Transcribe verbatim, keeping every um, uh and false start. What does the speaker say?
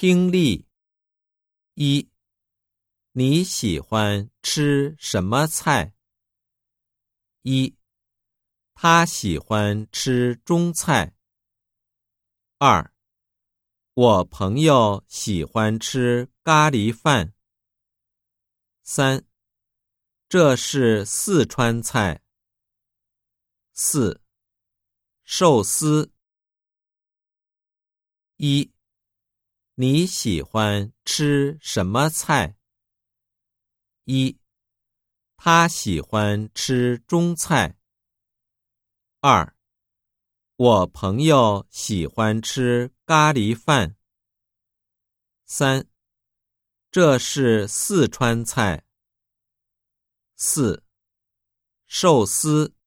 听力一，你喜欢吃什么菜？一，他喜欢吃中菜。二，我朋友喜欢吃咖喱饭。三，这是四川菜。四，寿司。一，你喜欢吃什么菜？一，他喜欢吃中菜。二，我朋友喜欢吃咖喱饭。三，这是四川菜。四，寿司。